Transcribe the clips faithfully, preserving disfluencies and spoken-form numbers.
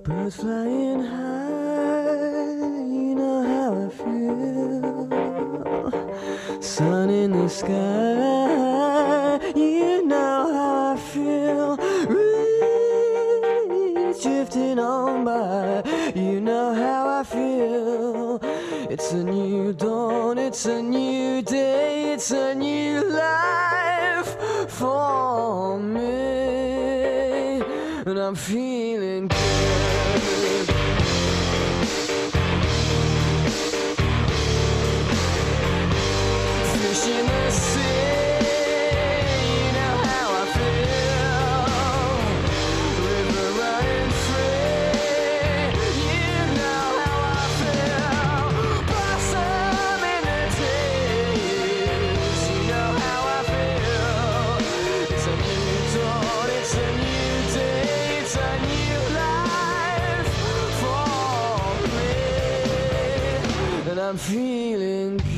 Birds flying high, you know how I feel. Sun in the sky, you know how I feel. Breeze drifting on by, you know how I feel. It's a new dawn, it's a new day, it's a new life for me, and I'm feeling good. Fish in the sea, you know how I feel. River running free, you know how I feel. Blossom in the trees, you know how I feel. It's a new dawn, it's a new day, it's a new life for me, and I'm feeling good.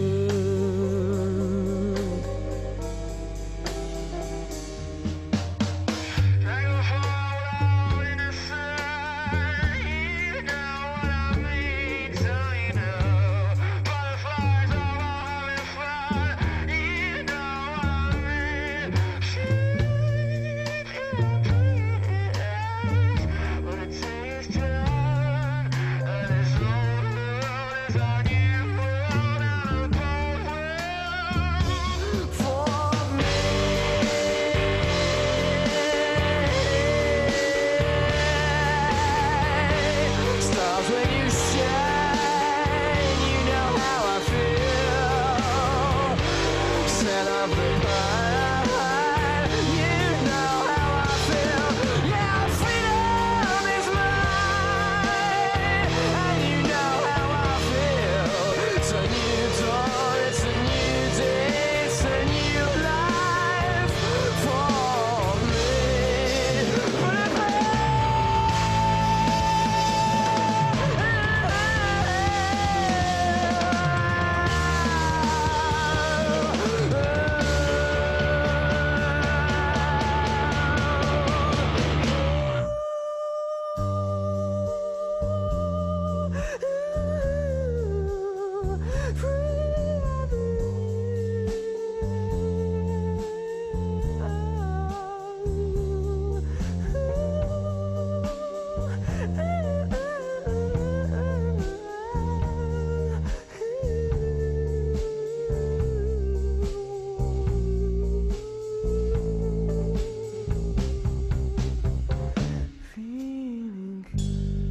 Stars when you shine, you know how I feel. Set up the pie, you know how I feel. Yeah, freedom is mine, and you know how I feel. It's a new dawn, it's a new day, it's a new life for me. Feeling good.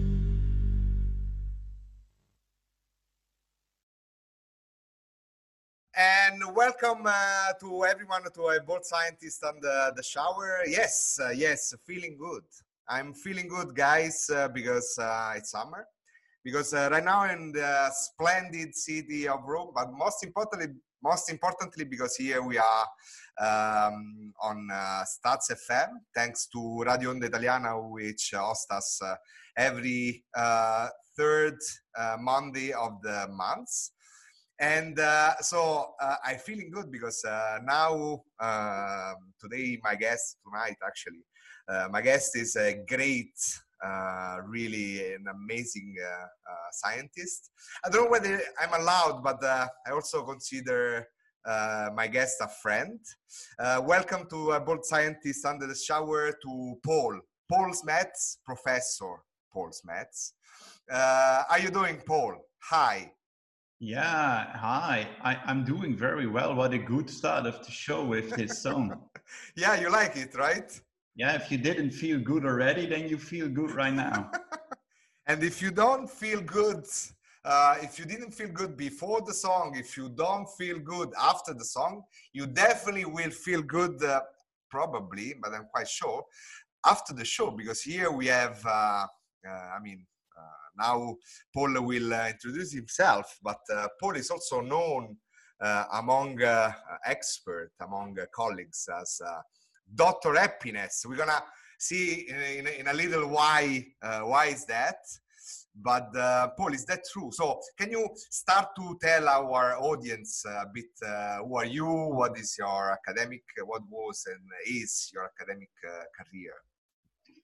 And welcome uh, to everyone to a bold scientist on the, the shower. Yes, uh, yes, feeling good. I'm feeling good, guys, uh, because uh, it's summer. Because uh, right now in the splendid city of Rome, but most importantly, most importantly, because here we are um, on uh, Staz F M, thanks to Radio Onda Italiana, which hosts us uh, every uh, third uh, Monday of the month. And uh, so uh, I'm feeling good because uh, now, uh, today, my guest tonight, actually, uh, my guest is a great, uh, really an amazing uh, uh, scientist. I don't know whether I'm allowed, but uh, I also consider uh, my guest a friend. Uh, welcome to a Bold Scientist Under the Shower to Paul, Paul Smets, Professor Paul Smets. Uh, how are you doing, Paul? Hi. Yeah, hi. I, I'm doing very well. What a good start of the show with this song. Yeah, you like it, right? Yeah, if you didn't feel good already, then you feel good right now. And if you don't feel good, uh, if you didn't feel good before the song, if you don't feel good after the song, you definitely will feel good, uh, probably, but I'm quite sure, after the show, because here we have, uh, uh, I mean, uh, now Paul will uh, introduce himself, but uh, Paul is also known uh, among uh, experts, among uh, colleagues as uh, Doctor Happiness. We're gonna see in, in, in a little why uh, why is that. But uh, Paul, is that true? So can you start to tell our audience a bit uh, who are you, what is your academic, what was and is your academic uh, career?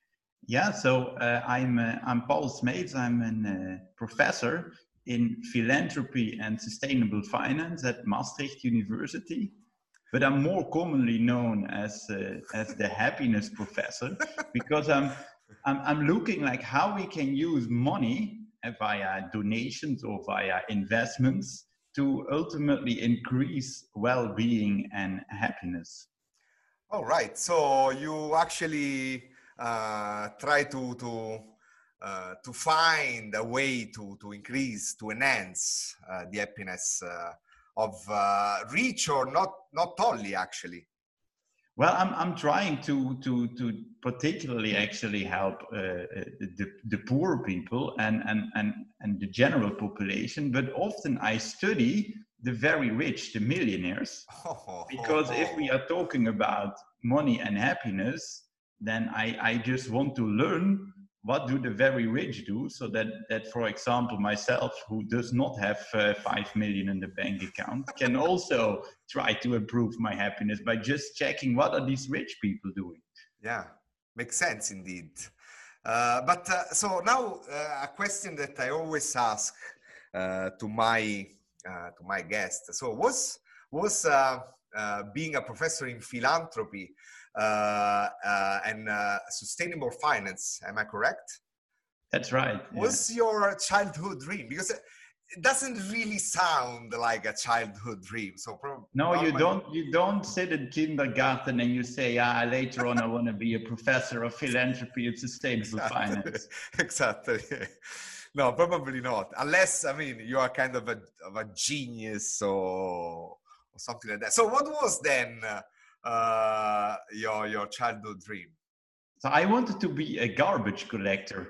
Yeah, so uh, I'm uh, I'm Paul Smeets. I'm a uh, professor in philanthropy and sustainable finance at Maastricht University, but I'm more commonly known as uh, as the happiness professor because I'm, I'm I'm looking like how we can use money via donations or via investments to ultimately increase well-being and happiness. All right. So you actually uh, try to to uh, to find a way to to increase, to enhance uh, the happiness uh, of uh, rich or not not only actually. Well, I'm I'm trying to to to particularly actually help uh, the the poor people and and and and the general population, but often I study the very rich, the millionaires, because if we are talking about money and happiness, then I I just want to learn what do the very rich do, so that that for example myself, who does not have uh, five million in the bank account, can also try to improve my happiness by just checking what are these rich people doing. Yeah, makes sense indeed. Uh, but uh, so now uh, a question that I always ask uh, to my uh, to my guest. So was was uh, uh, being a professor in philanthropy uh, uh, and uh, sustainable finance? Am I correct? That's right. Was yeah. your childhood dream? Because it doesn't really sound like a childhood dream. So probably no, you don't. You don't sit in kindergarten and you say, "Ah, later on, I want to be a professor of philanthropy and sustainable exactly. finance." Exactly. No, probably not. Unless, I mean, you are kind of a of a genius or or something like that. So, what was then uh, your your childhood dream? So I wanted to be a garbage collector.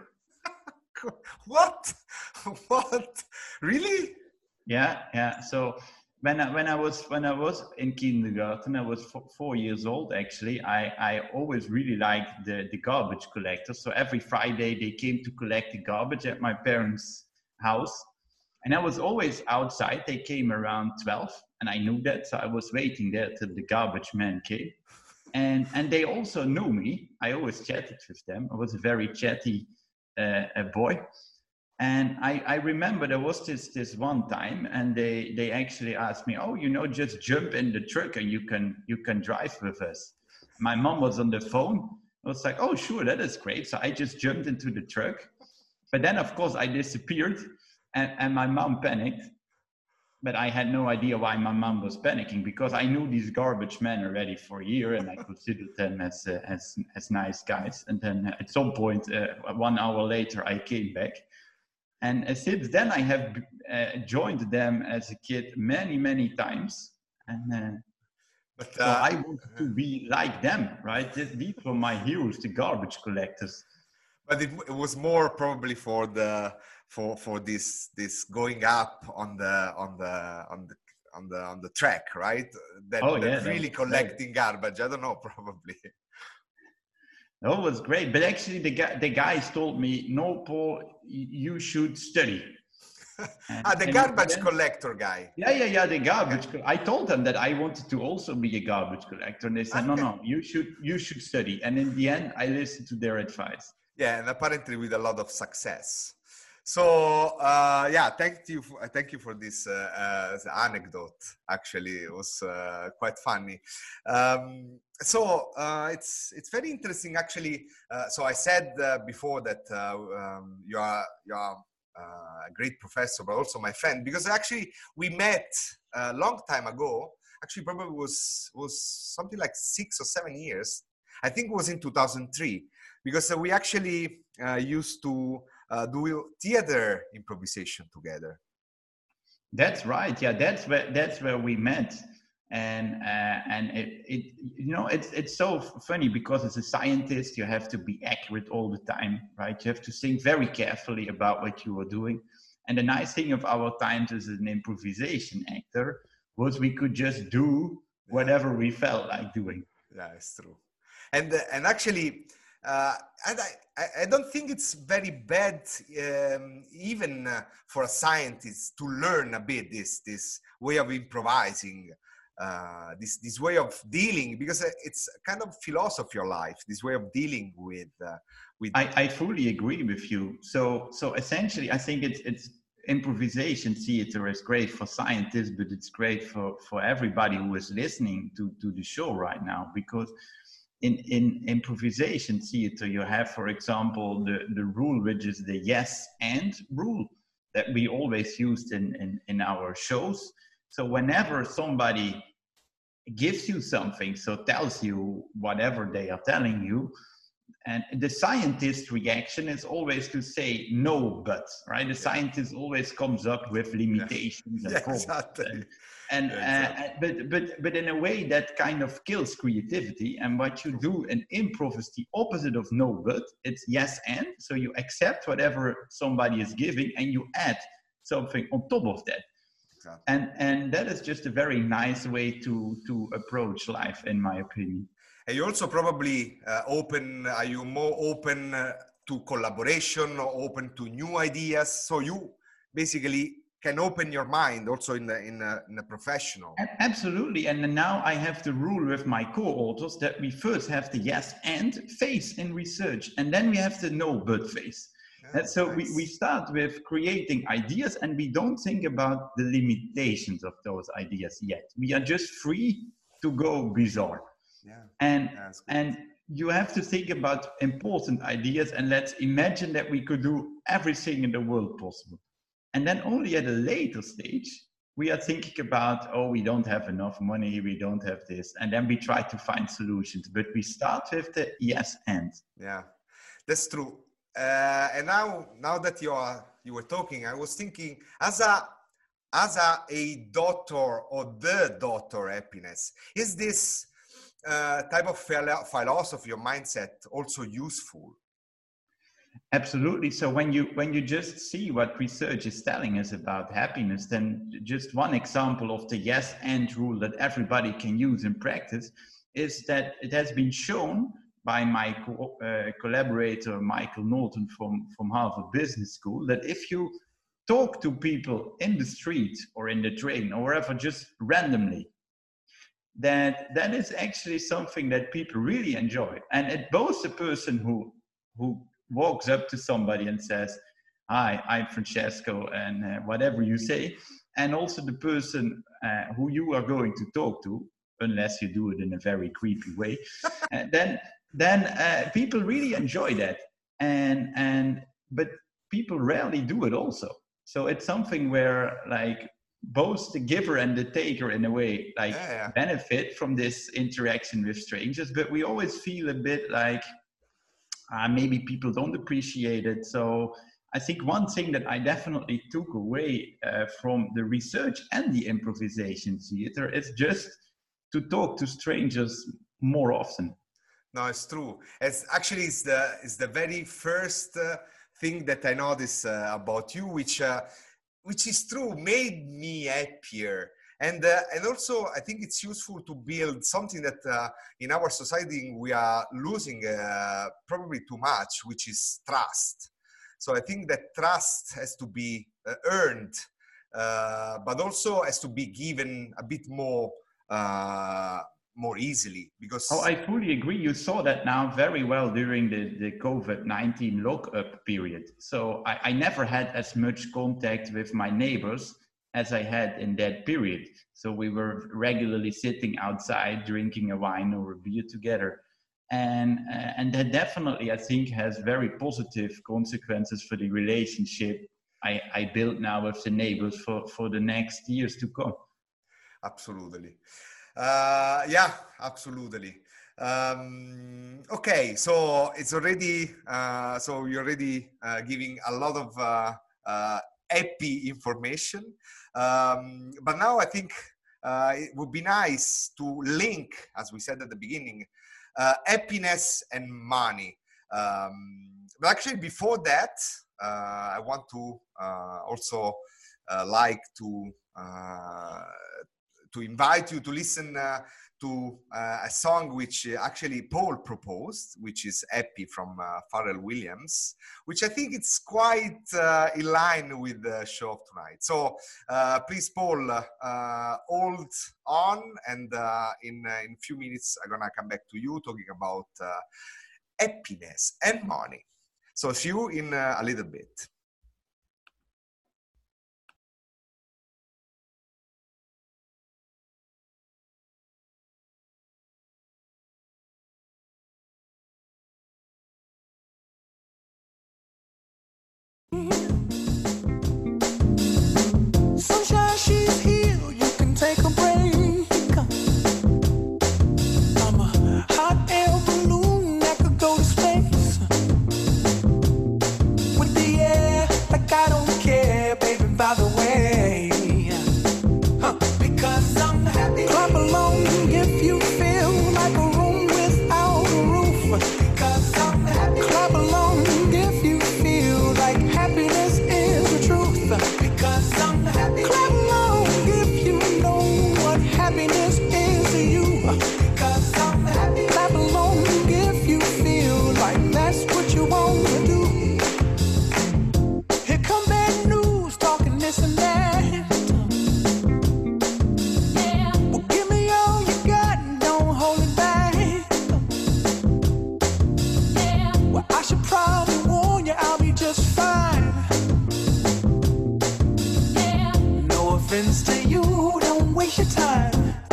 What? What? Really? Yeah, yeah. So when I, when I was when I was in kindergarten, I was f- four years old. Actually, I I always really liked the the garbage collector. So every Friday they came to collect the garbage at my parents' house, and I was always outside. They came around twelve, and I knew that, so I was waiting there till the garbage man came. And and they also knew me. I always chatted with them. I was a very chatty uh, a boy. And I, I remember there was this this one time, and they they actually asked me, "Oh, you know, just jump in the truck and you can you can drive with us." My mom was on the phone. I was like, "Oh, sure, that is great." So I just jumped into the truck, but then of course I disappeared, and, and my mom panicked. But I had no idea why my mom was panicking, because I knew these garbage men already for a year, and I considered them as uh, as as nice guys. And then at some point, uh, one hour later, I came back. And uh, since then, I have uh, joined them as a kid many, many times. And uh, But so uh, I wanted to be like them, right? These were my heroes, the garbage collectors. but it, it was more probably for the for for this this going up on the on the on the on the on the track, right? That, Oh, that yeah, that really was collecting garbage. I don't know, probably. That was great. But actually, the guy, the guys told me, "No, Paul, you should study." And, ah, the and garbage then, collector guy. yeah, yeah, yeah, the garbage. Okay. Co- I told them that I wanted to also be a garbage collector, and they said, "No, Okay. no, you should, you should study." And in the end, I listened to their advice. Yeah, and apparently with a lot of success. So uh, yeah, thank you, for, thank you for this uh, uh, anecdote. Actually, it was uh, quite funny. Um, so uh, it's it's very interesting. Actually, uh, so I said uh, before that uh, um, you are you are uh, a great professor, but also my friend, because actually we met a long time ago. Actually, probably was was something like six or seven years. I think it was in two thousand three, because we actually uh, used to uh, do theater improvisation together. That's right. Yeah, that's where that's where we met, and uh, and it, it you know it's it's so funny, because as a scientist you have to be accurate all the time, right? You have to think very carefully about what you are doing. And the nice thing of our times as an improvisation actor was we could just do whatever we felt like doing. Yeah, it's true. And uh, and actually, uh, and I, I don't think it's very bad, um, even uh, for a scientist, to learn a bit this this way of improvising. uh, this this way of dealing, because it's kind of philosophy of life, this way of dealing with uh, with I, I fully agree with you. So so essentially, I think it's it's improvisation theater is great for scientists, but it's great for for everybody who is listening to to the show right now, because in in improvisation theater you have, for example, the the rule, which is the yes and rule that we always used in in, in our shows. So whenever somebody gives you something, so tells you whatever they are telling you, and the scientist reaction is always to say no, but, right? The scientist always comes up with limitations yeah. and Yeah, problems. exactly. And, and yeah, exactly. uh, but but but in a way that kind of kills creativity. And what you do in improv is the opposite of no, but it's yes and. So you accept whatever somebody is giving and you add something on top of that. Exactly. And and that is just a very nice way to to approach life, in my opinion. And you also probably uh, open, are you more open uh, to collaboration or open to new ideas? So you basically can open your mind also in the in a, in a professional. Absolutely. And now I have the rule with my co-authors that we first have the yes and phase in research, and then we have the no but phase. Yeah, and so nice. we, we start with creating ideas, and we don't think about the limitations of those ideas yet. We are just free to go bizarre. Yeah. And, yeah, and you have to think about important ideas, and let's imagine that we could do everything in the world possible. And then only at a later stage, we are thinking about, oh, we don't have enough money, we don't have this. And then we try to find solutions, but we start with the yes and. Yeah, that's true. Uh, and now, now that you are, you were talking, I was thinking, as a, as a, a daughter or the daughter happiness, is this uh, type of philosophy or mindset also useful? Absolutely. So when you when you just see what research is telling us about happiness, then just one example of the yes and rule that everybody can use in practice is that it has been shown by my co- uh, collaborator Michael Norton from, from Harvard Business School that if you talk to people in the street or in the train or wherever just randomly, that that is actually something that people really enjoy. And it both the person who who walks up to somebody and says, hi, I'm Francesco, and uh, whatever you say, and also the person uh, who you are going to talk to, unless you do it in a very creepy way, and then then uh, people really enjoy that. And and but people rarely do it also. So it's something where like both the giver and the taker in a way like yeah, yeah. benefit from this interaction with strangers, but we always feel a bit like uh, maybe people don't appreciate it. So I think one thing that I definitely took away uh, from the research and the improvisation theater is just to talk to strangers more often. No, it's true. It's actually it's the it's the very first uh, thing that I noticed uh, about you, which uh, which is true, made me happier. And uh, and also, I think it's useful to build something that uh, in our society we are losing uh, probably too much, which is trust. So I think that trust has to be uh, earned, uh, but also has to be given a bit more uh, more easily. Because oh, I fully agree. You saw that now very well during the, the COVID nineteen lockup period. So I, I never had as much contact with my neighbors as I had in that period. So we were regularly sitting outside, drinking a wine or a beer together. And, uh, and that definitely, I think, has very positive consequences for the relationship I, I built now with the neighbors for, for the next years to come. Absolutely. Uh, yeah, absolutely. Um, okay, so it's already, uh, so you're already uh, giving a lot of uh, uh, happy information. Um, but now I think uh, it would be nice to link, as we said at the beginning, uh, happiness and money. Um, but actually before that, uh, I want to uh, also uh, like to uh, to invite you to listen uh, to uh, a song which actually Paul proposed, which is Happy from uh, Pharrell Williams, which I think it's quite uh, in line with the show of tonight. So uh, please, Paul, uh, hold on, and uh, in uh, in a few minutes I'm gonna come back to you talking about uh, happiness and money. So see you in uh, a little bit. Sunshine, she's here, you can take a break. I'm a hot air balloon that could go to space. With the air, like I don't care, baby, by the way. Huh. Because I'm happy. Clap along if you feel like a room without a roof. Because I'm happy. Clap along if you feel like happiness is the truth. Because I'm happy. Clap along if you know what happiness is to you. Because I'm happy. Clap along if you feel like that's what you want to do. Here come bad news, talking this and that. Yeah. Well, give me all you got and don't hold it back. Yeah. Well, I should probably warn you, I'll be just fine. Yeah. No offense to you, don't waste your time.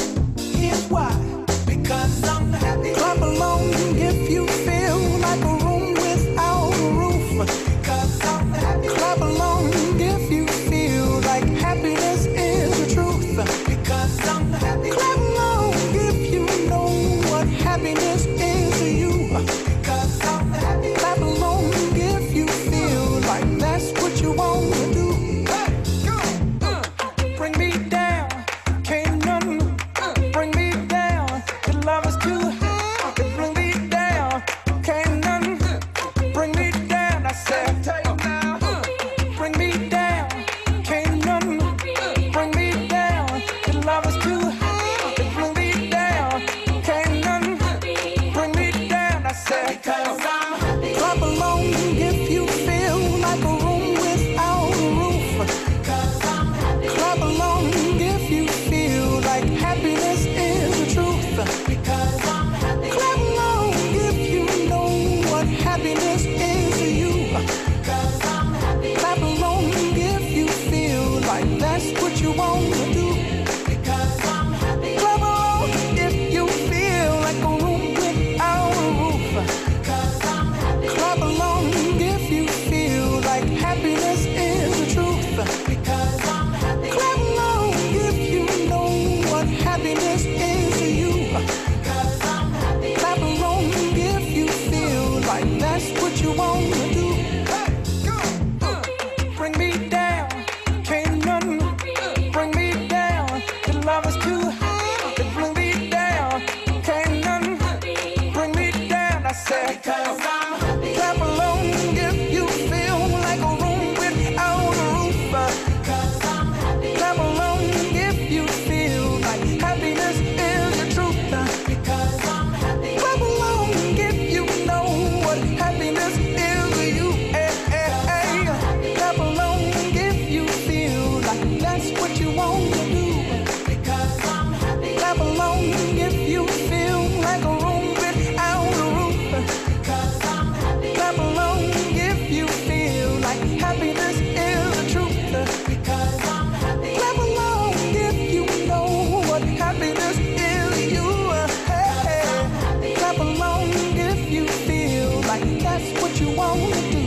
Here's why. Because I'm happy. Clap along if you feel like a room without a roof. Because I'm happy. Clap along if you feel like happiness is the truth. Because I'm happy. Clap along if you know what happiness is to you. Because I'm happy. Clap along if you feel like that's what you want to do. Hey, go. Uh, bring me down, can't none bring me down. Your love is too high, it bring me down, can't none bring me down. I said, uh, bring me down, can't none bring me down. Your love is too high, it bring me down, can't none bring me down. I said, because I'm happy. Clap along if you feel like a room without a roof. Because I'm happy. Clap along if you feel like happiness is the truth. Because I'm happy. Clap along if you know what happiness is to you. Because I'm happy. Clap along if you feel like that's what you want to do. Because I'm happy. Clap along if you feel like a room without a roof. Because I'm happy. Clap along if you feel like happiness is the truth. Because I'm happy. Clap along if you know what happiness is to you. Because I'm happy. Clap along if you feel like that's what you want to do. Hey, go. Uh, bring me down, can't none bring me down. Your love is too high, it bring me down, can't none bring me down. I said, because I'm happy. Clap along if you feel like a room without a roof. Because I'm happy. Clap along if you feel like happiness is the truth. Because I'm happy. Clap along if you know what happiness is to you. Hey, hey, hey. Clap along if you feel like that's what you want to do. Because I'm happy. Clap along if you feel like a room without a roof. Because I'm happy. Clap along if you feel like happiness is the truth. Because I'm happy. Clap along if you know what happiness is to you. Hey, hey. Clap along if you feel like that's what you want to do.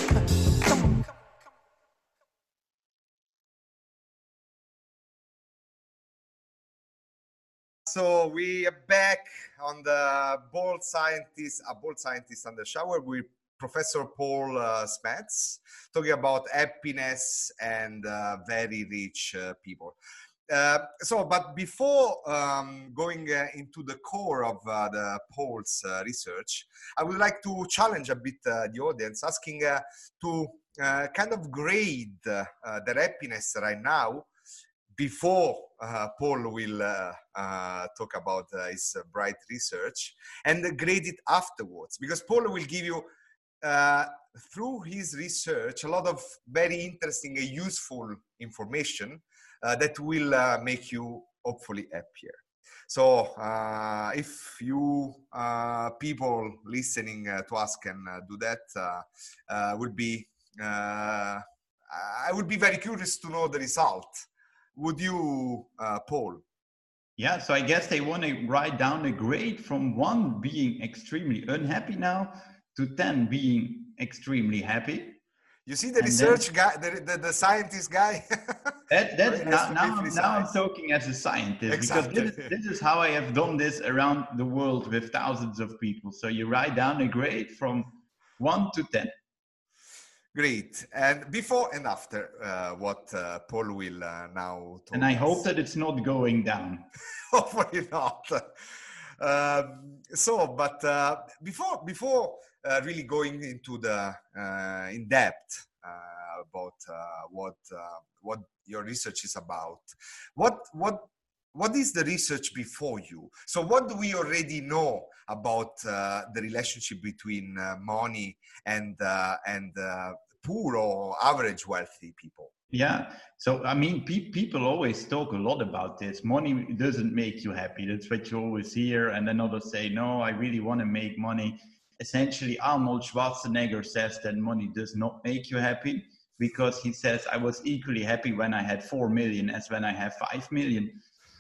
Come on. So we are back on the Bold Scientist, a Bold Scientist on the Shower with Professor Paul uh, Smets, talking about happiness and uh, very rich uh, people. Uh, so, but before um, going uh, into the core of uh, the Paul's uh, research, I would like to challenge a bit uh, the audience, asking uh, to uh, kind of grade uh, their happiness right now before uh, Paul will uh, uh, talk about uh, his uh, bright research, and grade it afterwards, because Paul will give you uh, through his research a lot of very interesting and useful information uh, that will uh, make you hopefully happier. So uh, if you uh, people listening uh, to us can uh, do that, uh, uh, would be uh, I would be very curious to know the result. Would you, uh, Paul? Yeah, so I guess they want to write down a grade from one being extremely unhappy now to ten being extremely happy. You see the And research then, guy, the, the, the scientist guy? that, that, It has now, to be now, precise. now I'm talking as a scientist, Exactly. because this is, this is how I have done this around the world with thousands of people. So you write down a grade from one to ten. Great. And before and after uh, what uh, Paul will uh, now talk And I us. hope that it's not going down. Hopefully not. Um, so, but uh, before before uh, really going into the uh, in depth uh, about uh, what uh, what your research is about, what what what is the research before you? So, what do we already know about uh, the relationship between uh, money and uh, and uh, poor or average wealthy people? Yeah. So, I mean, pe- people always talk a lot about this. Money doesn't make you happy. That's what you always hear. And then others say, no, I really want to make money. Essentially, Arnold Schwarzenegger says that money does not make you happy, because he says, I was equally happy when I had four million as when I have five million.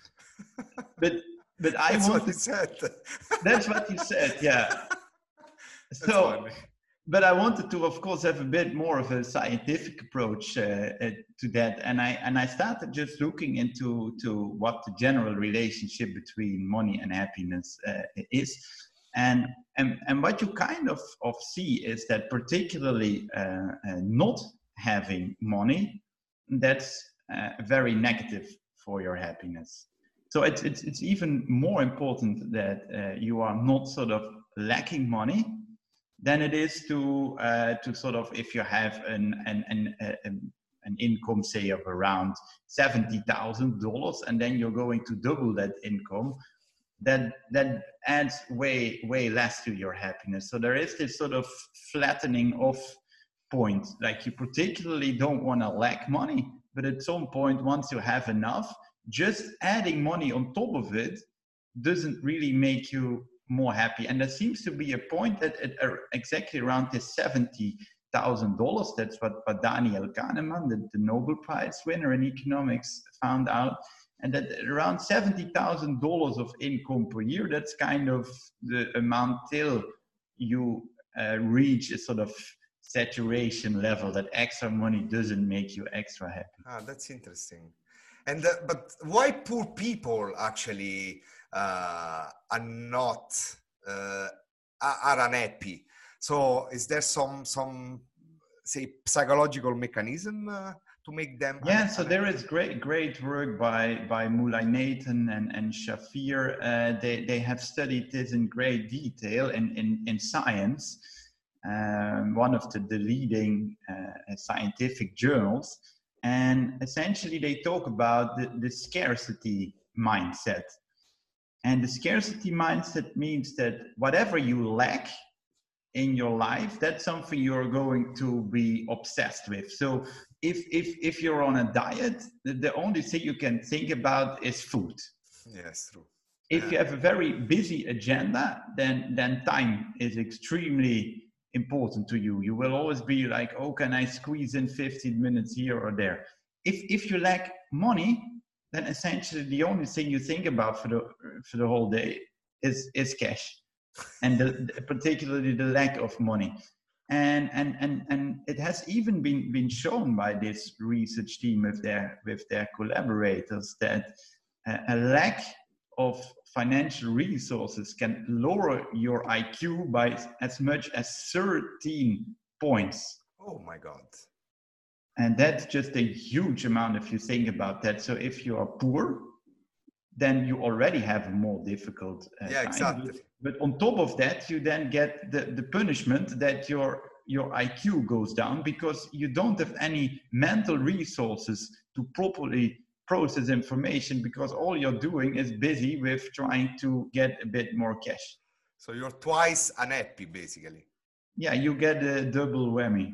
But, but I That's want what he to, said. that's what he said. Yeah. That's So, funny. but I wanted to, of course, have a bit more of a scientific approach uh, uh, to that, and I and I started just looking into to what the general relationship between money and happiness uh, is, and and and what you kind of of see is that particularly uh, uh, not having money, that's uh, very negative for your happiness. So it's it's it's even more important that uh, you are not sort of lacking money than it is to uh, to sort of, if you have an an an, an, an income, say, of around seventy thousand dollars, and then you're going to double that income, that that adds way way less to your happiness. So there is this sort of flattening off point. Like, you particularly don't want to lack money, but at some point, once you have enough, just adding money on top of it doesn't really make you more happy. And there seems to be a point that at uh, exactly around this seventy thousand dollars, that's what, what Daniel Kahneman, the, the Nobel Prize winner in economics, found out. And that around seventy thousand dollars of income per year, that's kind of the amount till you uh, reach a sort of saturation level, that extra money doesn't make you extra happy. Ah, that's interesting. And uh, but why poor people actually uh, are not uh, are unhappy? So is there some some say psychological mechanism uh, to make them? Yeah, un- so there is great great work by by Mulay Nathan and and Shafir. Uh, they they have studied this in great detail in in, in science, um, one of the, the leading uh, scientific journals. And essentially, they talk about the, the scarcity mindset. And the scarcity mindset means that whatever you lack in your life, that's something you're going to be obsessed with. So if if if you're on a diet, the, the only thing you can think about is food. Yes, true. If Yeah. you have a very busy agenda, then then time is extremely important to you. You will always be like, oh, can I squeeze in fifteen minutes here or there? If if you lack money, then essentially the only thing you think about for the for the whole day is is cash, and the, particularly the lack of money. And and and and it has even been been shown by this research team with their with their collaborators that uh, a lack of financial resources can lower your I Q by as much as thirteen points. Oh my God. And that's just a huge amount if you think about that. So if you are poor, then you already have a more difficult uh, Yeah, time. exactly. But, but on top of that, you then get the, the punishment that your your I Q goes down because you don't have any mental resources to properly process information because all you're doing is busy with trying to get a bit more cash. So you're twice unhappy, basically. Yeah, you get a double whammy.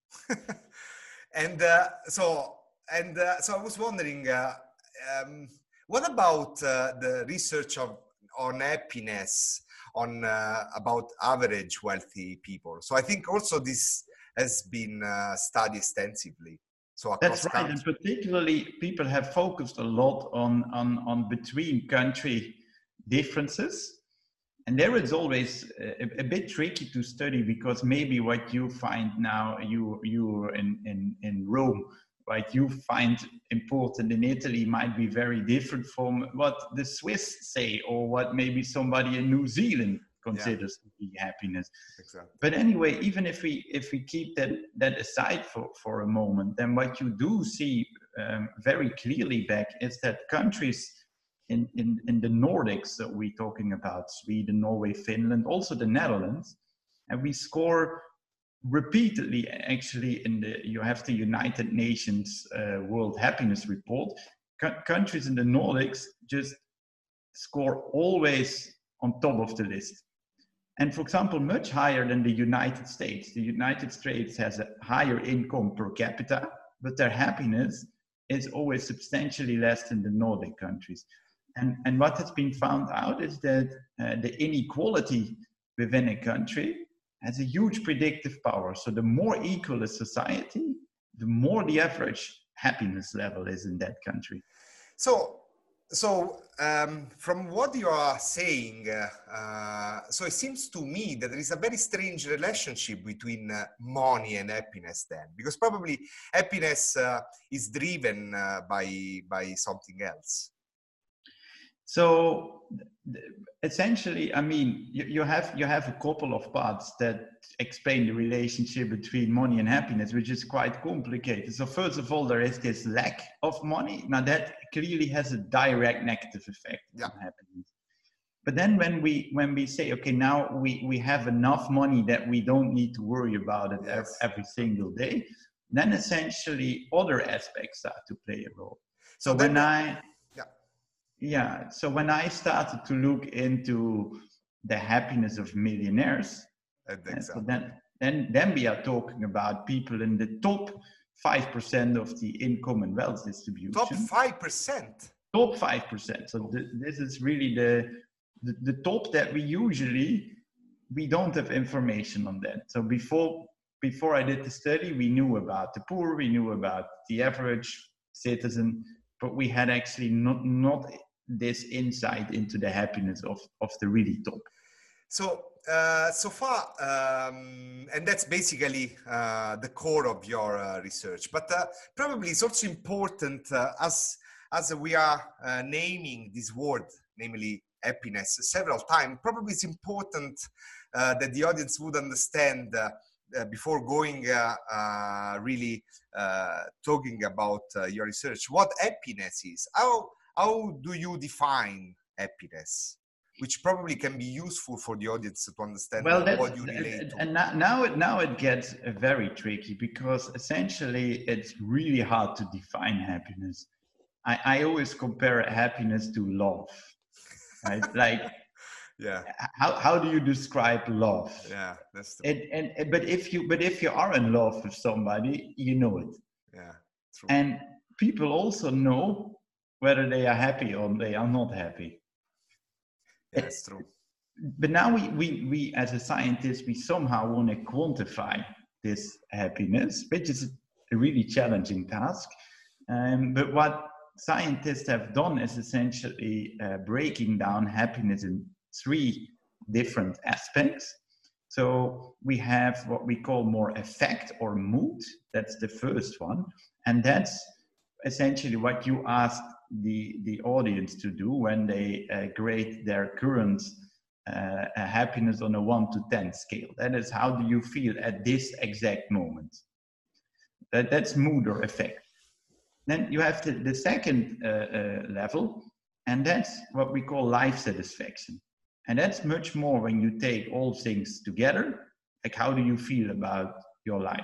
and uh, so, and uh, so I was wondering, uh, um, what about uh, the research of on happiness on uh, about average wealthy people? So I think also this has been uh, studied extensively. So across that's right, countries. and particularly people have focused a lot on on on between country differences, and there it's always a, a bit tricky to study because maybe what you find now, you you in in in Rome, right, you find important in Italy might be very different from what the Swiss say or what maybe somebody in New Zealand considers yeah. to be happiness. Exactly. But anyway, even if we if we keep that that aside for, for a moment, then what you do see um, very clearly back is that countries in, in, in the Nordics that we're talking about, Sweden, Norway, Finland, also the Netherlands, and we score repeatedly actually in the, you have the United Nations uh, World Happiness Report, C- countries in the Nordics just score always on top of the list. And for example, much higher than the United States. The United States has a higher income per capita, but their happiness is always substantially less than the Nordic countries. And, and what has been found out is that uh, the inequality within a country has a huge predictive power. So the more equal a society, the more the average happiness level is in that country. So, so um, from what you are saying, uh, uh, so it seems to me that there is a very strange relationship between uh, money and happiness then, because probably happiness uh, is driven uh, by, by something else. So essentially, I mean, you, you have you have a couple of parts that explain the relationship between money and happiness, which is quite complicated. So first of all, there is this lack of money. Now that clearly has a direct negative effect yeah. on happiness. But then when we when we say, okay, now we, we have enough money that we don't need to worry about it yes. every, every single day, then essentially other aspects start to play a role. So, so when then, I Yeah, so when I started to look into the happiness of millionaires, exactly. so then, then, then we are talking about people in the top five percent of the income and wealth distribution. Top five percent? Top five percent. So th- this is really the, the, the top that we usually, we don't have information on that. So before, before I did the study, we knew about the poor, we knew about the average citizen, but we had actually not, not this insight into the happiness of, of the really top. So, uh, so far, um, and that's basically uh, the core of your uh, research, but uh, probably it's also important uh, as, as we are uh, naming this word, namely happiness, several times, probably it's important uh, that the audience would understand uh, uh, before going uh, uh, really uh, talking about uh, your research, what happiness is. How, how do you define happiness? Which probably can be useful for the audience to understand well, what you relate to. And now it, now it gets very tricky because essentially it's really hard to define happiness. I, I always compare happiness to love, right? Like, yeah. How how do you describe love? Yeah, that's true. And, and but if you but if you are in love with somebody, you know it. Yeah, true. And people also know whether they are happy or they are not happy. Yeah, that's true. But now we, we, we, as a scientist, we somehow want to quantify this happiness, which is a really challenging task. Um, but what scientists have done is essentially uh, breaking down happiness in three different aspects. So we have what we call more affect or mood. That's the first one. And that's essentially what you asked the, the audience to do when they uh, grade their current uh, happiness on a one to ten scale. That is, how do you feel at this exact moment? That, that's mood or affect. Then you have the, the second uh, uh, level, and that's what we call life satisfaction. And that's much more when you take all things together, like how do you feel about your life?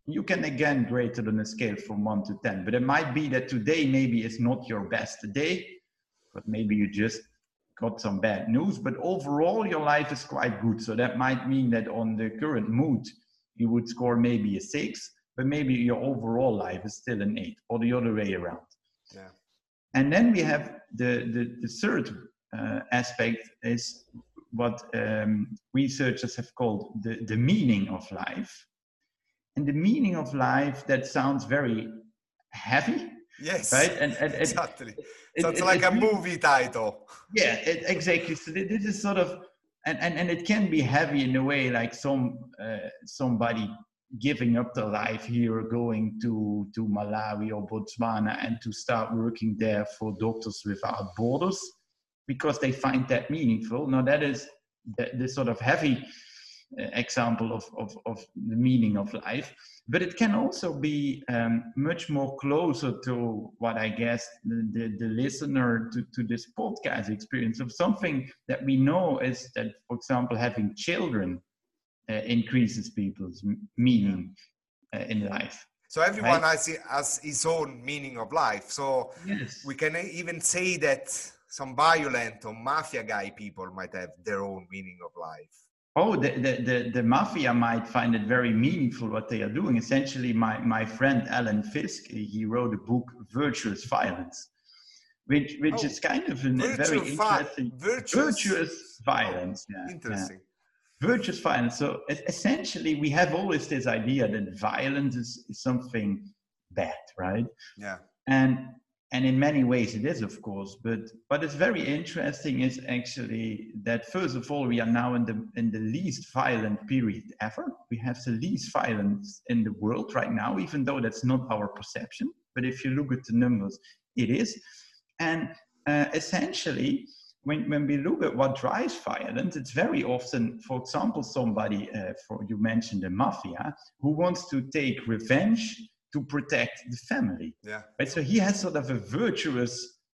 You can again grade it on a scale from one to ten, but it might be that today maybe is not your best day, but maybe you just got some bad news, but overall your life is quite good. So that might mean that on the current mood, you would score maybe a six, but maybe your overall life is still an eight, or the other way around. Yeah. And then we have the, the, the third uh, aspect is what um, researchers have called the, the meaning of life. And the meaning of life, that sounds very heavy. Yes, right? And, and, and exactly. it, Sounds it, like it a really, movie title. Yeah, it, exactly. So this is sort of, and, and, and it can be heavy in a way, like some uh, somebody giving up their life here, going to, to Malawi or Botswana and to start working there for Doctors Without Borders because they find that meaningful. Now that is the, the sort of heavy uh, example of, of, of the meaning of life, but it can also be um, much more closer to what I guess the, the, the listener to, to this podcast experience of something that we know is that, for example, having children Uh, increases people's m- meaning uh, in life. So everyone Right? has, has his own meaning of life. So Yes. we can even say that some violent or mafia guy people might have their own meaning of life. Oh, the, the, the, the mafia might find it very meaningful what they are doing. Essentially, my, my friend Alan Fisk, he wrote a book, Virtuous Violence, which, which Oh, is kind of a very virtual fi- interesting... virtuous- virtuous violence. Oh, yeah, interesting. Yeah. Virtuous violence. So essentially, we have always this idea that violence is, is something bad, right? Yeah. And and in many ways it is, of course. But what is very interesting is actually that first of all, we are now in the in the least violent period ever. We have the least violence in the world right now, even though that's not our perception. But if you look at the numbers, it is. And uh, essentially, When, when we look at what drives violence, it's very often, for example, somebody, uh, for you mentioned the mafia, who wants to take revenge to protect the family. Yeah. Right? So he has sort of a virtuous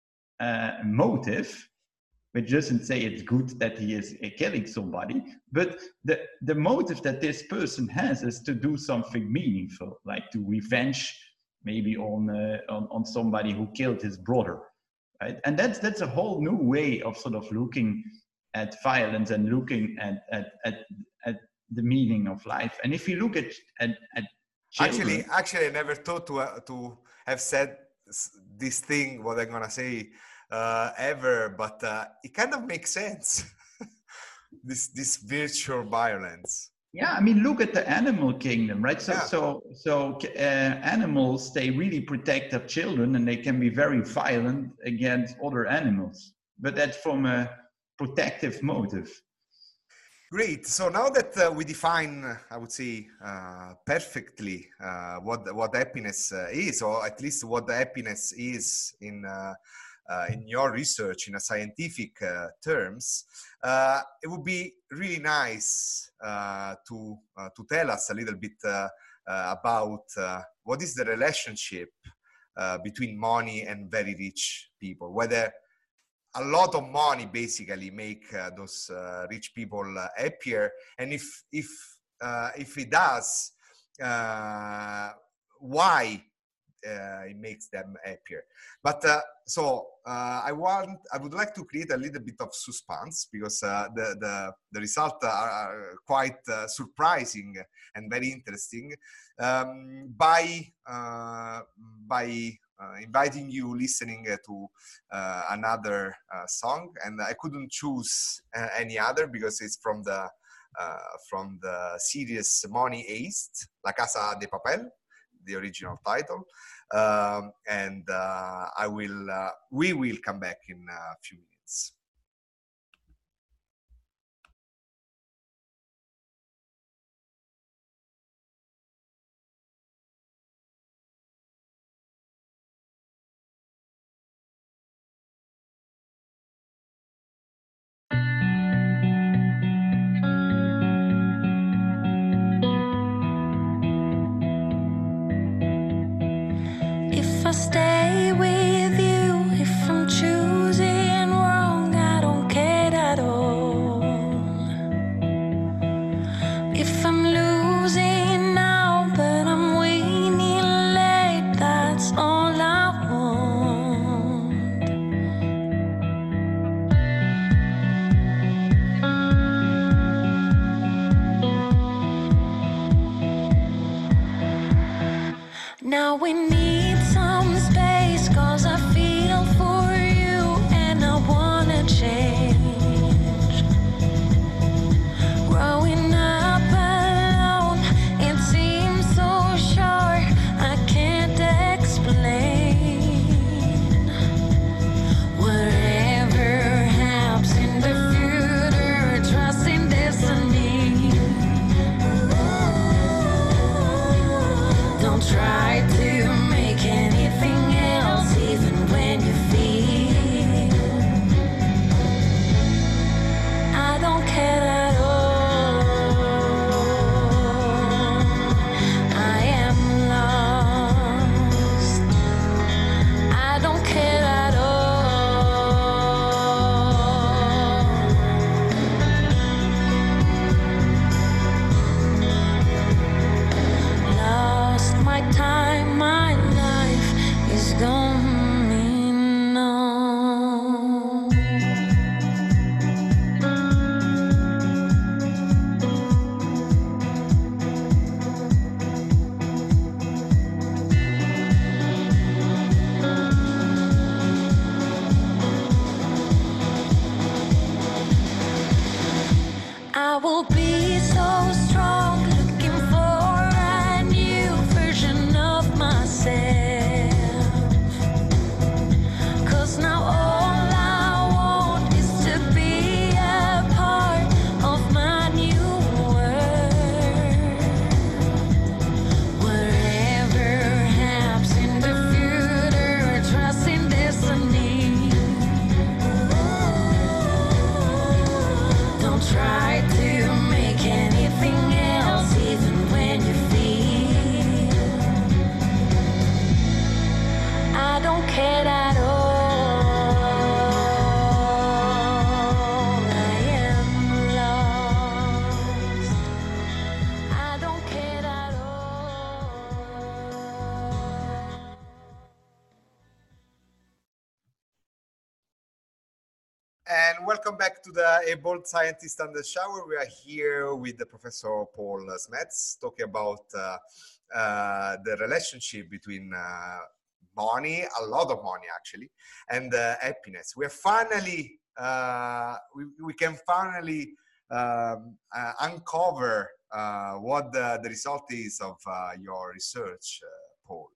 uh, motive, which doesn't say it's good that he is uh, killing somebody, but the, the motive that this person has is to do something meaningful, like to revenge maybe on, uh, on, on somebody who killed his brother. Right? And that's that's a whole new way of sort of looking at violence and looking at at, at, at the meaning of life. And if you look at at, at children, actually, actually, I never thought to uh, to have said this thing. What I'm gonna say uh, ever, but uh, it kind of makes sense. this this virtual violence. Yeah, I mean, look at the animal kingdom, right? So, Yeah. so, so uh, animals, they really protect their children, and they can be very violent against other animals. But that's from a protective motive. Great. So now that uh, we define, I would say, uh, perfectly uh, what what happiness uh, is, or at least what the happiness is in uh, uh, in your research in a scientific uh, terms, uh, it would be really nice uh, to uh, to tell us a little bit uh, uh, about uh, what is the relationship uh, between money and very rich people, whether a lot of money basically make uh, those uh, rich people uh, happier, and if if uh, if it does, uh, why uh, it makes them happier. But uh, so uh, I want I would like to create a little bit of suspense, because uh, the the the results are, are quite uh, surprising and very interesting, um, by uh, by Uh, inviting you listening uh, to uh, another uh, song, and I couldn't choose uh, any other because it's from the uh, from the series Money Heist, La Casa de Papel, the original title, um, and uh, I will uh, we will come back in a few minutes. If I stay with you, if I'm choosing wrong, And welcome back to the A Bold Scientist on the Shower. We are here with the Professor Paul Smets talking about uh, uh, the relationship between uh, money, a lot of money actually, and uh, happiness. We are finally, uh, we, we can finally um, uh, uncover uh, what the, the result is of uh, your research, uh, Paul.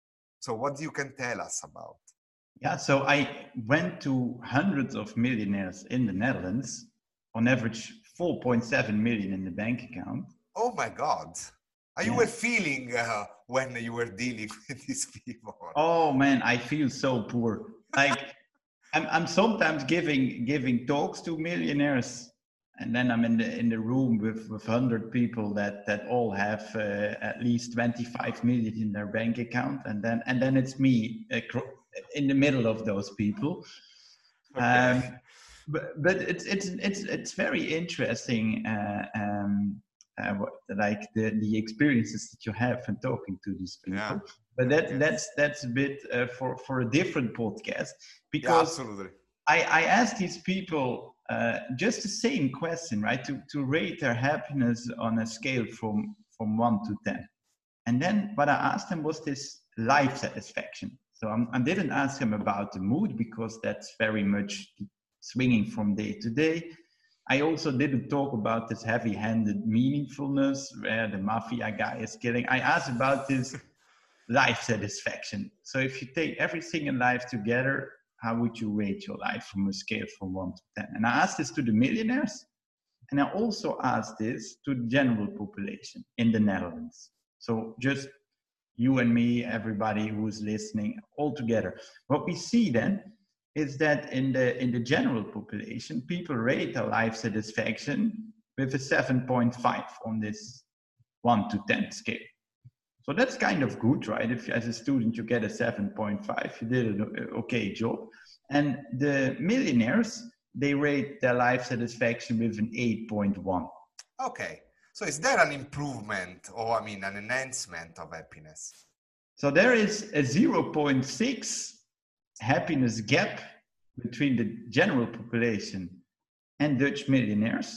So what you can tell us about? Yeah, so I went to hundreds of millionaires in the Netherlands, on average four point seven million in the bank account. Oh my God. How you Yeah. were feeling uh, when you were dealing with these people? Oh man, I feel so poor. Like I'm, I'm sometimes giving giving talks to millionaires, and then I'm in the in the room with with hundred people that that all have uh, at least twenty-five million in their bank account, and then and then it's me uh, in the middle of those people. Okay. Um, but but it's it's it's it's very interesting. Uh, um, uh, what, like the the experiences that you have when talking to these people. Yeah. But that Okay. that's that's a bit uh, for for a different podcast, Yeah, because absolutely. I I asked these people uh, just the same question, right? To to rate their happiness on a scale from from one to ten, and then what I asked them was this life satisfaction. So I'm, I didn't ask them about the mood, because that's very much swinging from day to day. I also didn't talk about this heavy-handed meaningfulness where the mafia guy is killing. I asked about this life satisfaction. So if you take everything in life together, how would you rate your life from a scale from one to ten? And I asked this to the millionaires, and I also asked this to the general population in the Netherlands. So just you and me, everybody who's listening, all together. What we see then is that in the in the general population, people rate their life satisfaction with a seven point five on this one to ten scale. So that's kind of good, right? If as a student you get a seven point five, you did an okay job. And the millionaires, they rate their life satisfaction with an eight point one. Okay. So is there an improvement, or I mean an enhancement of happiness? So there is a zero point six happiness gap between the general population and Dutch millionaires.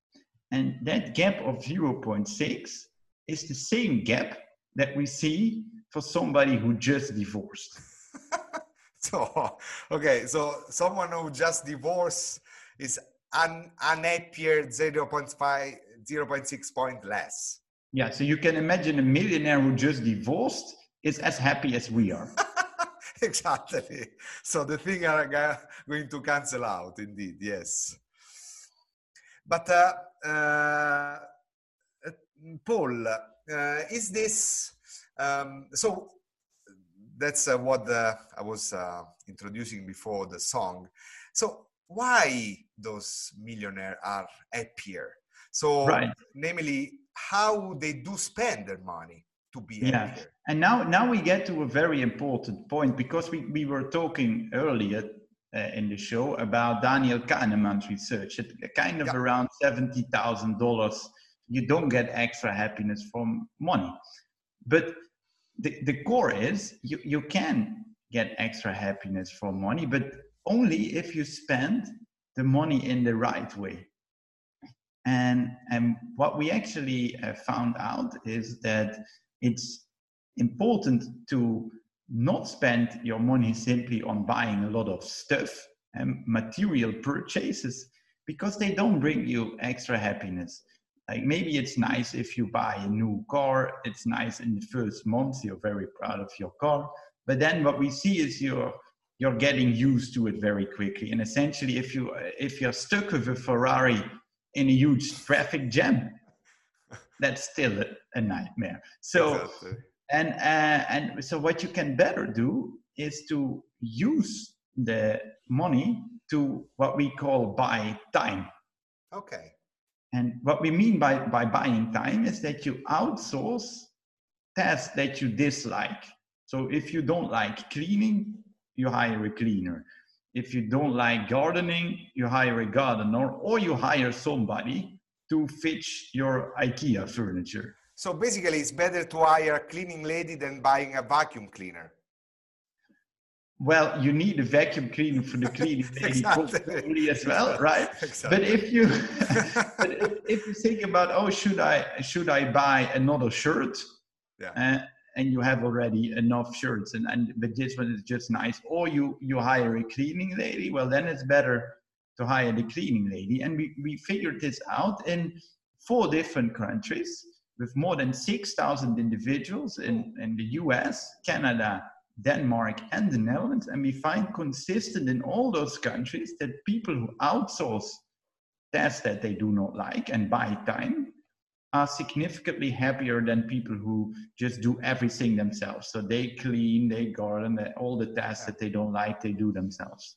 And that gap of zero point six is the same gap that we see for somebody who just divorced. So, okay, so someone who just divorced is un, unhappier zero point five, zero point six point less. Yeah, so you can imagine a millionaire who just divorced is as happy as we are. Exactly. So the thing are going to cancel out, indeed, yes. But uh, uh, Paul, uh, is this, um, so that's uh, what the, I was uh, introducing before the song. So why those millionaires are happier? So Right. namely, how they do spend their money to be Yeah, happier. and now now we get to a very important point, because we, we were talking earlier uh, in the show about Daniel Kahneman's research. At kind of Yeah. around seventy thousand dollars, you don't get extra happiness from money. But the, the core is you, you can get extra happiness from money, but only if you spend the money in the right way. And, and what we actually uh, found out is that it's important to not spend your money simply on buying a lot of stuff and material purchases, because they don't bring you extra happiness. Like maybe it's nice if you buy a new car, it's nice in the first month, you're very proud of your car, but then what we see is you're you're getting used to it very quickly. And essentially, if you if you're stuck with a Ferrari in a huge traffic jam, that's still a, a nightmare. So, Exactly. and uh, and so what you can better do is to use the money to what we call buy time. Okay. And what we mean by, by buying time is that you outsource tasks that you dislike. So if you don't like cleaning, you hire a cleaner. If you don't like gardening, you hire a gardener, or you hire somebody to fix your IKEA furniture. So basically, it's better to hire a cleaning lady than buying a vacuum cleaner. well, you need a vacuum cleaner for the cleaning lady Exactly. probably as well, right? Exactly. But if you but if, if you think about, oh, should I should I buy another shirt? Yeah. Uh, and you have already enough shirts, and, and but this one is just nice. Or you you hire a cleaning lady. Well, then it's better to hire the cleaning lady. And we, we figured this out in four different countries with more than six thousand individuals in, in the U S, Canada, Denmark, and the Netherlands. And we find consistent in all those countries that people who outsource tasks that they do not like and buy time are significantly happier than people who just do everything themselves. So they clean, they garden, they, all the tasks that they don't like, they do themselves.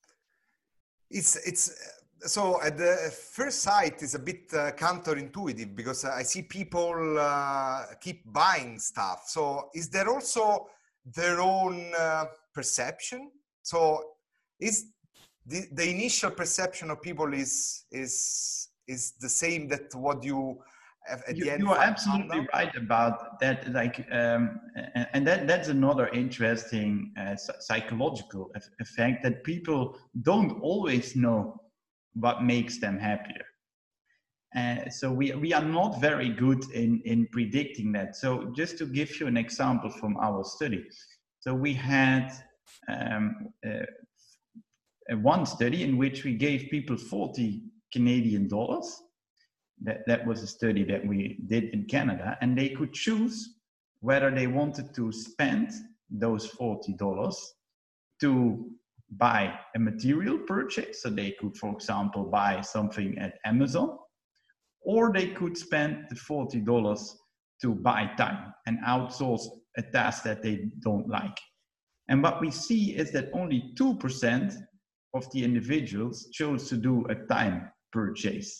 It's, it's, so at the first sight it's a bit uh, counterintuitive, because I see people uh, keep buying stuff. So is there also their own uh, perception? So is the, the initial perception of people is, is, is the same that what you at you, the end you are absolutely out? right about that. Like, um, and, and that that's another interesting uh, psychological effect, that people don't always know what makes them happier. Uh, so we we are not very good in in predicting that. So just to give you an example from our study, so we had um, uh, one study in which we gave people forty Canadian dollars. That, that was a study that we did in Canada, and they could choose whether they wanted to spend those forty dollars to buy a material purchase. So they could, for example, buy something at Amazon, or they could spend the forty dollars to buy time and outsource a task that they don't like. And what we see is that only two percent of the individuals chose to do a time purchase.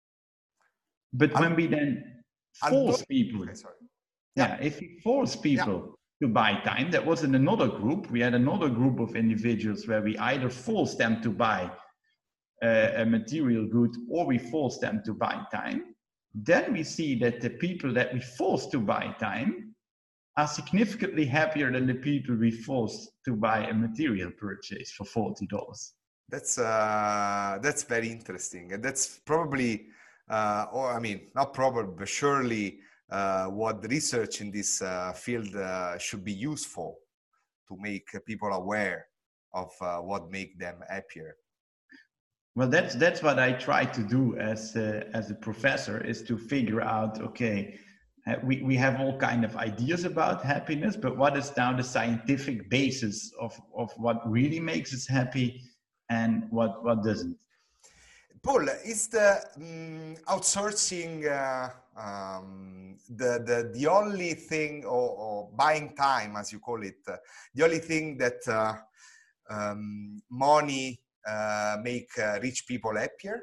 But when we then force people, okay, sorry. yeah, if we force people yeah. to buy time, that was in another group. We had another group of individuals where we either forced them to buy a, a material good, or we forced them to buy time. Then we see that the people that we forced to buy time are significantly happier than the people we forced to buy a material purchase for forty dollars. That's, uh, that's very interesting. And that's probably... Uh, or I mean, not probably, but surely uh, what the research in this uh, field uh, should be useful to make people aware of uh, what make them happier. Well, that's that's what I try to do as a, as a professor, is to figure out, okay, uh, we, we have all kind of ideas about happiness, but what is now the scientific basis of, of what really makes us happy and what, what doesn't? Paul, is the um, outsourcing uh, um, the, the, the only thing, or, or buying time, as you call it, uh, the only thing that uh, um, money uh, make uh, rich people happier?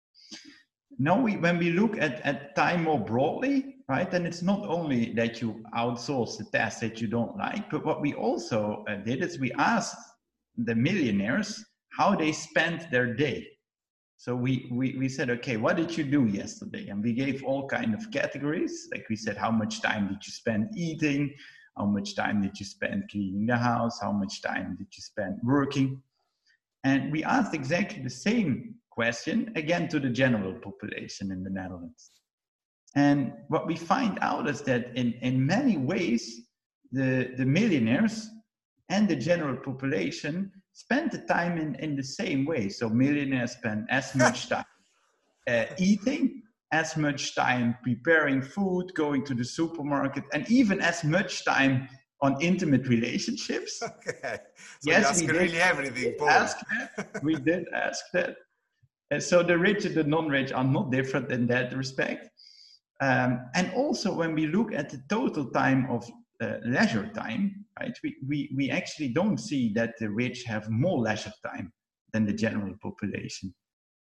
No, we, when we look at, at time more broadly, right, then it's not only that you outsource the tasks that you don't like, but what we also uh, did is we asked the millionaires how they spent their day. So we, we, we said, okay, what did you do yesterday? And we gave all kind of categories. Like we said, how much time did you spend eating? How much time did you spend cleaning the house? How much time did you spend working? And we asked exactly the same question again to the general population in the Netherlands. And what we find out is that in, in many ways, the, the millionaires and the general population spend the time in, in the same way. So millionaires spend as much time uh, eating, as much time preparing food, going to the supermarket, and even as much time on intimate relationships. Okay. So yes, you ask we really did, everything, we did Paul. ask that. We did ask that. And so the rich and the non-rich are not different in that respect. Um, and also when we look at the total time of uh, leisure time, right, we, we, we actually don't see that the rich have more leisure time than the general population.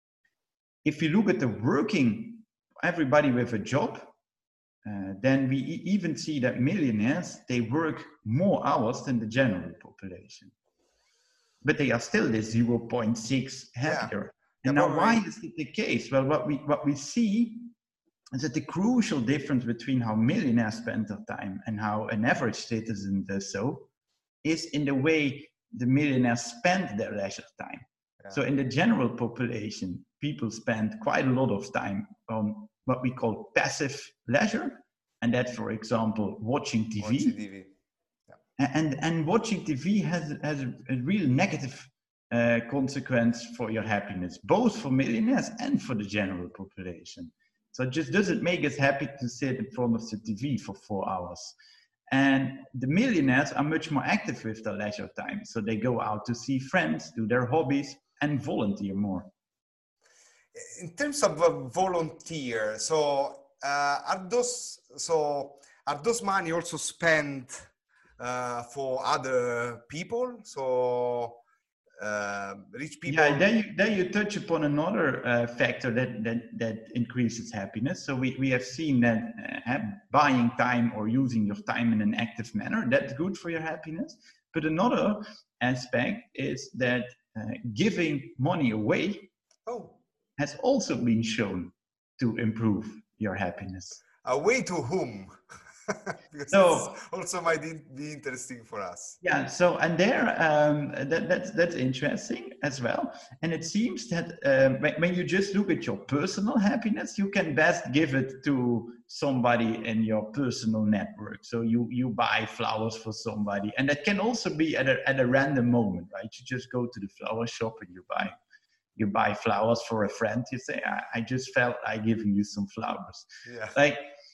If you look at the working, everybody with a job, uh, then we e- even see that millionaires, they work more hours than the general population. But they are still the zero point six happier. Yeah. And yeah, now why is it the case? Well, what we, what we see is that the crucial difference between how millionaires spend their time and how an average citizen does so is in the way the millionaires spend their leisure time. Yeah. So in the general population, people spend quite a lot of time on what we call passive leisure. And that's, for example, watching T V. Watching T V. Yeah. And, and watching T V has, has a, a real negative uh, consequence for your happiness, both for millionaires and for the general population. So it just doesn't make us happy to sit in front of the T V for four hours. And the millionaires are much more active with their leisure time. So they go out to see friends, do their hobbies, and volunteer more. In terms of uh, volunteer, so uh, are those so are those money also spent uh, for other people? So uh, rich people. Yeah, then you then you touch upon another uh, factor that that that increases happiness. So we we have seen that uh, buying time or using your time in an active manner, that's good for your happiness. But another aspect is that uh, giving money away oh. has also been shown to improve your happiness. Away to whom? Because so also might be interesting for us. Yeah. So and there, um, that, that's that's interesting as well. And it seems that um, when, when you just look at your personal happiness, you can best give it to somebody in your personal network. So you you buy flowers for somebody, and that can also be at a at a random moment, right? You just go to the flower shop and you buy. You buy flowers for a friend. You say, I, I just felt like giving you some flowers. Yeah. Like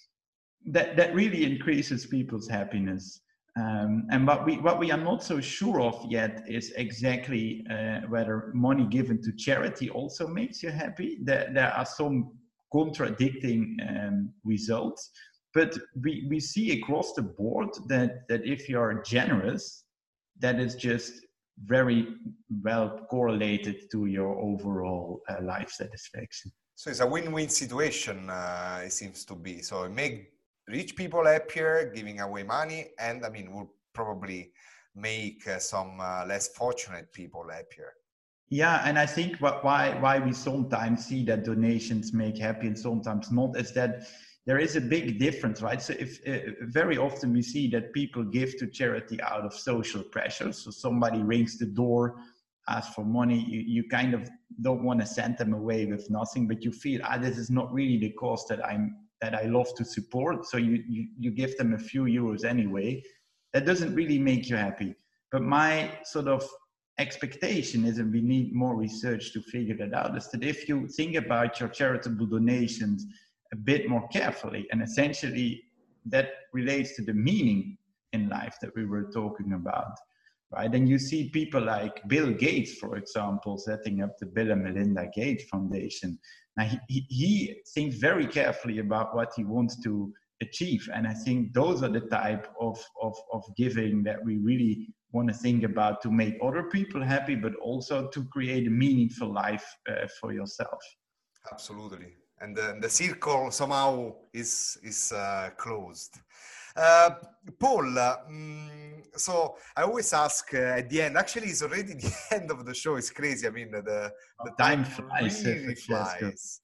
that, that really increases people's happiness. Um, and what we, what we are not so sure of yet is exactly uh, whether money given to charity also makes you happy. There, there are some contradicting um, results, but we, we see across the board that, that if you're generous, that is just very well correlated to your overall uh, life satisfaction. So it's a win-win situation, uh, it seems to be. So it make rich people happier, giving away money, and I mean, will probably make uh, some uh, less fortunate people happier. Yeah, and I think what, why why we sometimes see that donations make happy and sometimes not is that there is a big difference, right? So if uh, very often we see that people give to charity out of social pressure. So somebody rings the door, asks for money, you, you kind of don't want to send them away with nothing, but you feel, ah, this is not really the cause that I'm that I love to support. So you, you, you give them a few euros anyway. That doesn't really make you happy. But my sort of expectation is, and we need more research to figure that out, is that if you think about your charitable donations a bit more carefully, and essentially that relates to the meaning in life that we were talking about, right? And you see people like Bill Gates, for example, setting up the Bill and Melinda Gates Foundation. Now he, he, he thinks very carefully about what he wants to achieve, and I think those are the type of, of, of giving that we really want to think about to make other people happy, but also to create a meaningful life uh, for yourself. Absolutely. And the, the circle somehow is is uh, closed. Uh, Paul, uh, mm, so I always ask uh, at the end, actually it's already the end of the show, it's crazy. I mean, the, the time, time flies. Really flies.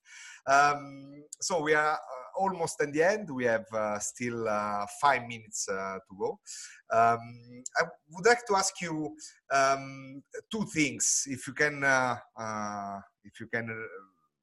Um, so we are uh, almost at the end. We have uh, still uh, five minutes uh, to go. Um, I would like to ask you um, two things, if you can, uh, uh, if you can uh,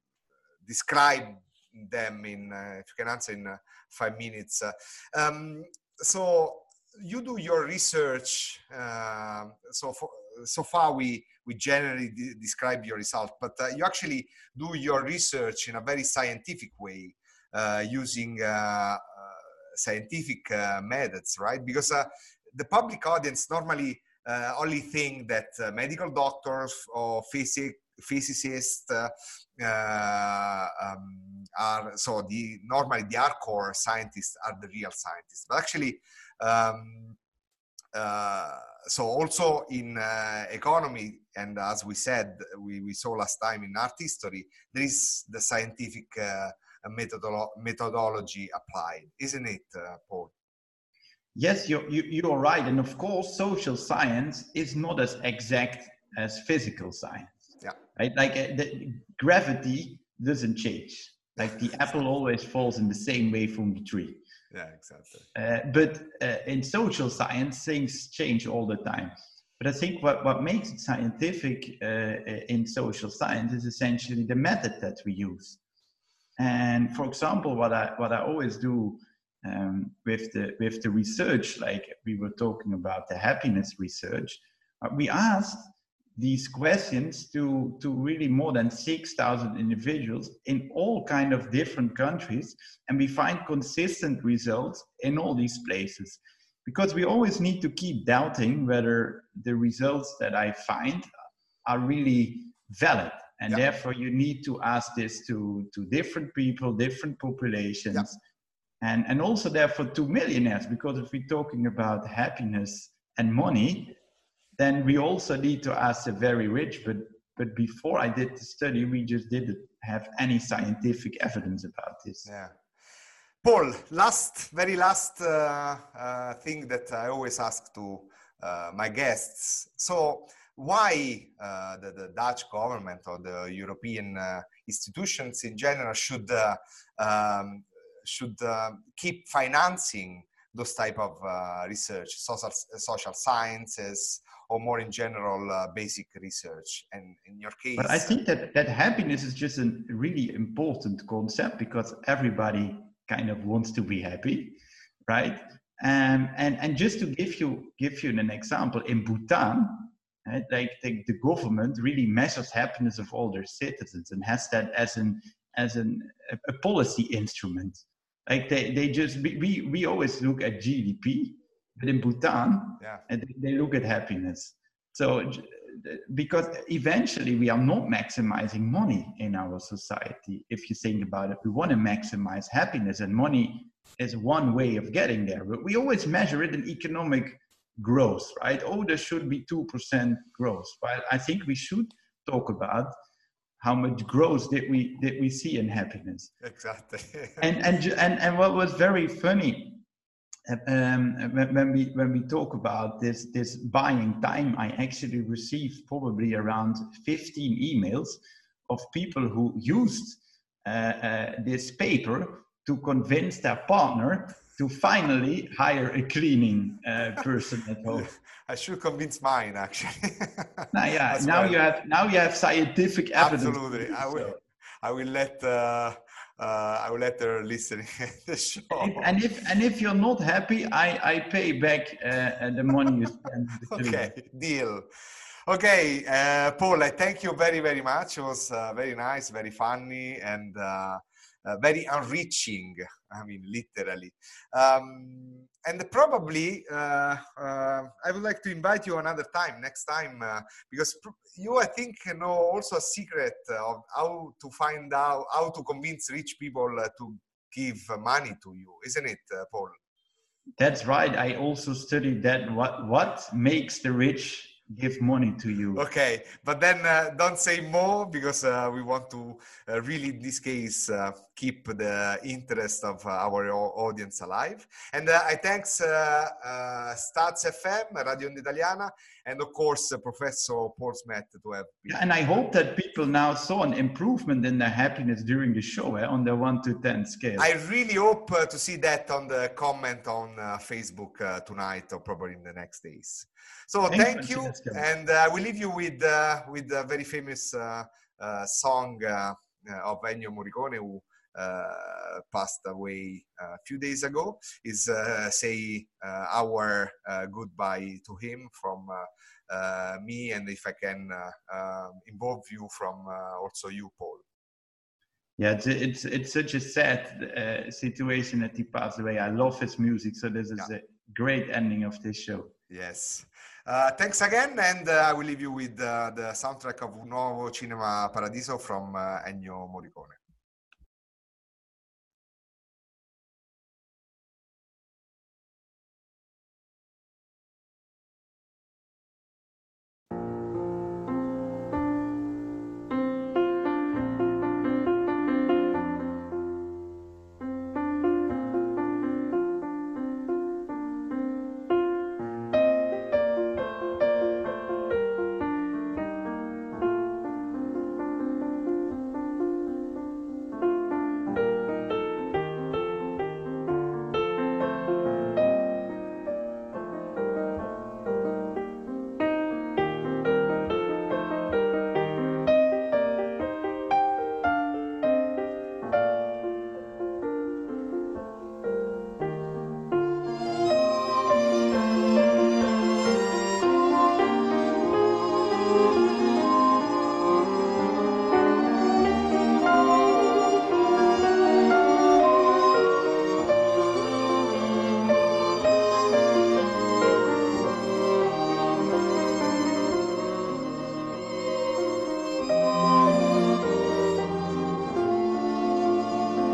describe them in, uh, if you can answer in uh, five minutes. Uh, um, so you do your research. Uh, so for, so far we we generally de describe your result, but uh, you actually do your research in a very scientific way, uh, using uh, uh, scientific uh, methods, right? Because uh, the public audience normally uh, only think that uh, medical doctors or physic physicists uh, uh, um, are, so the normally the hardcore scientists are the real scientists, but actually um, uh, so also in uh, economy, and as we said, we, we saw last time in art history, there is the scientific uh, methodolo methodology applied, isn't it, uh, Paul? Yes, you're, you, you're right. And of course, social science is not as exact as physical science. Yeah. Right? Like uh, the gravity doesn't change. Like the apple always falls in the same way from the tree. Yeah, exactly. Uh, but uh, in social science, things change all the time. But I think what, what makes it scientific uh, in social science is essentially the method that we use. And for example, what I what I always do um, with the with the research, like we were talking about the happiness research, uh, we asked these questions to to really more than six thousand individuals in all kind of different countries, and we find consistent results in all these places. Because we always need to keep doubting whether the results that I find are really valid. And yeah. therefore you need to ask this to, to different people, different populations, yeah. and, and also therefore to millionaires, because if we're talking about happiness and money, then we also need to ask the very rich. But, but before I did the study, we just didn't have any scientific evidence about this. Yeah. Paul, last, very last uh, uh, thing that I always ask to uh, my guests. So why uh, the, the Dutch government or the European uh, institutions in general should, uh, um, should uh, keep financing those type of uh, research, social, social sciences, or more in general, uh, basic research? And in your case... But I think that, that happiness is just a really important concept, because everybody kind of wants to be happy, right? Um, and and just to give you give you an example, in Bhutan, right, like the, the government really measures happiness of all their citizens and has that as an as an a, a policy instrument. Like they they just we we always look at G D P, but in Bhutan, yeah. and they look at happiness. So because eventually we are not maximizing money in our society. If you think about it, we want to maximize happiness, and money is one way of getting there. But we always measure it in economic growth, right? Oh, there should be two percent growth. But I think we should talk about how much growth did we did we see in happiness. Exactly. and, and and and what was very funny, Um, when we when we talk about this this buying time, I actually received probably around fifteen emails of people who used uh, uh, this paper to convince their partner to finally hire a cleaning uh, person at home. I should convince mine, actually. Now, yeah, now well. you have now you have scientific evidence. Absolutely, I will. I will let. Uh, Uh, I will let her listen to the show. And if and if you're not happy, I, I pay back uh, the money you spend. Okay, deal. Okay, uh, Paul, I thank you very, very much. It was uh, very nice, very funny, and uh, uh, very enriching. I mean, literally. Um, and probably, uh, uh, I would like to invite you another time, next time, uh, because you, I think, know also a secret of how to find out, how to convince rich people uh, to give money to you, isn't it, uh, Paul? That's right. I also studied that. What what makes the rich give money to you? Okay, but then uh, don't say more, because uh, we want to uh, really, in this case, uh, keep the interest of uh, our audience alive. And uh, I thanks uh, uh, Staz F M, Radio Onda Italiana, and of course, uh, Professor Paul Smet to have been. Yeah, and I hope that people now saw an improvement in their happiness during the show, eh, on the one to ten scale. I really hope uh, to see that on the comment on uh, Facebook uh, tonight, or probably in the next days. So Thanks, thank you, Francesco. And uh, I will leave you with uh, with a very famous uh, uh, song uh, of Ennio Morricone, who uh, passed away a few days ago. Is uh, say uh, our uh, goodbye to him from uh, uh, me, and if I can uh, uh, involve you from uh, also you, Paul. Yeah, it's it's, it's such a sad uh, situation that he passed away. I love his music, so this is yeah. a great ending of this show. Yes. Uh, thanks again, and uh, I will leave you with uh, the soundtrack of Nuovo Cinema Paradiso from uh, Ennio Morricone.